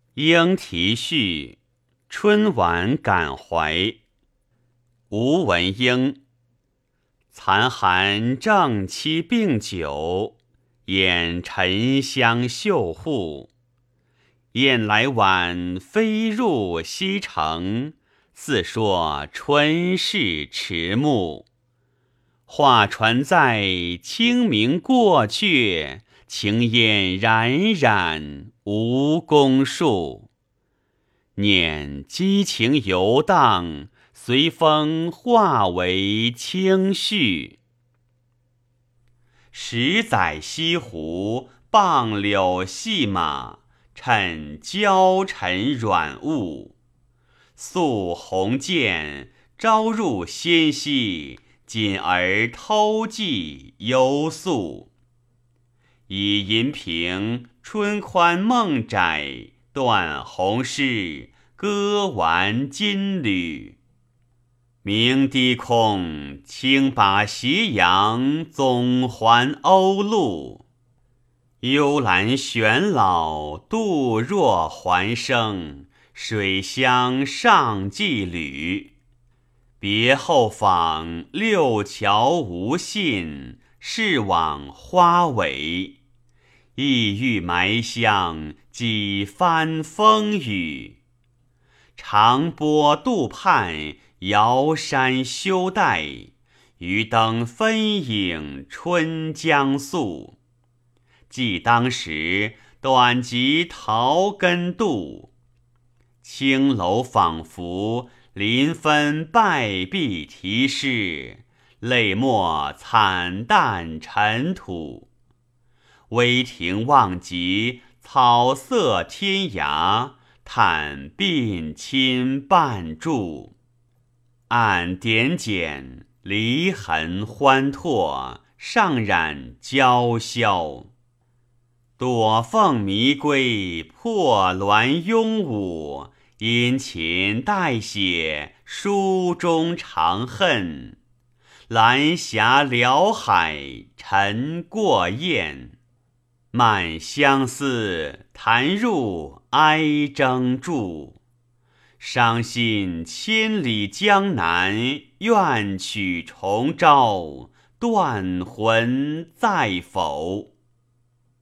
莺啼序，春晚感怀。吴文英。残寒正期病久，掩沉香绣户。雁来晚，飞入西城，似说春事迟暮。画船在，清明过却，青烟冉冉无宫树。念激情游荡，随风化为轻絮。10载西湖，傍柳戏马，趁娇尘软物。宿鸿渐，朝入纤溪，锦儿偷寄幽宿。以银瓶，春宽梦窄，断鸿诗，歌完金缕。鸣低空，轻把斜阳，总还鸥鹭。幽兰玄老，杜若还生，水乡上寄旅。别后访，六桥无信，是往花尾。意欲埋香，几番风雨。长波渡畔，遥山休待，渔灯分影春将宿。记当时，短及桃根渡。青楼仿佛，临分败壁题诗，泪墨惨淡尘土。微庭望极，草色天涯，叹鬓亲半柱。暗点检，离痕欢拓，上染娇绡。躲凤迷归，破鸾拥舞，殷勤代写，书中长恨。蓝霞辽海，尘过雁。漫相思，弹入哀征注。伤心千里江南，愿取重朝，断魂在否？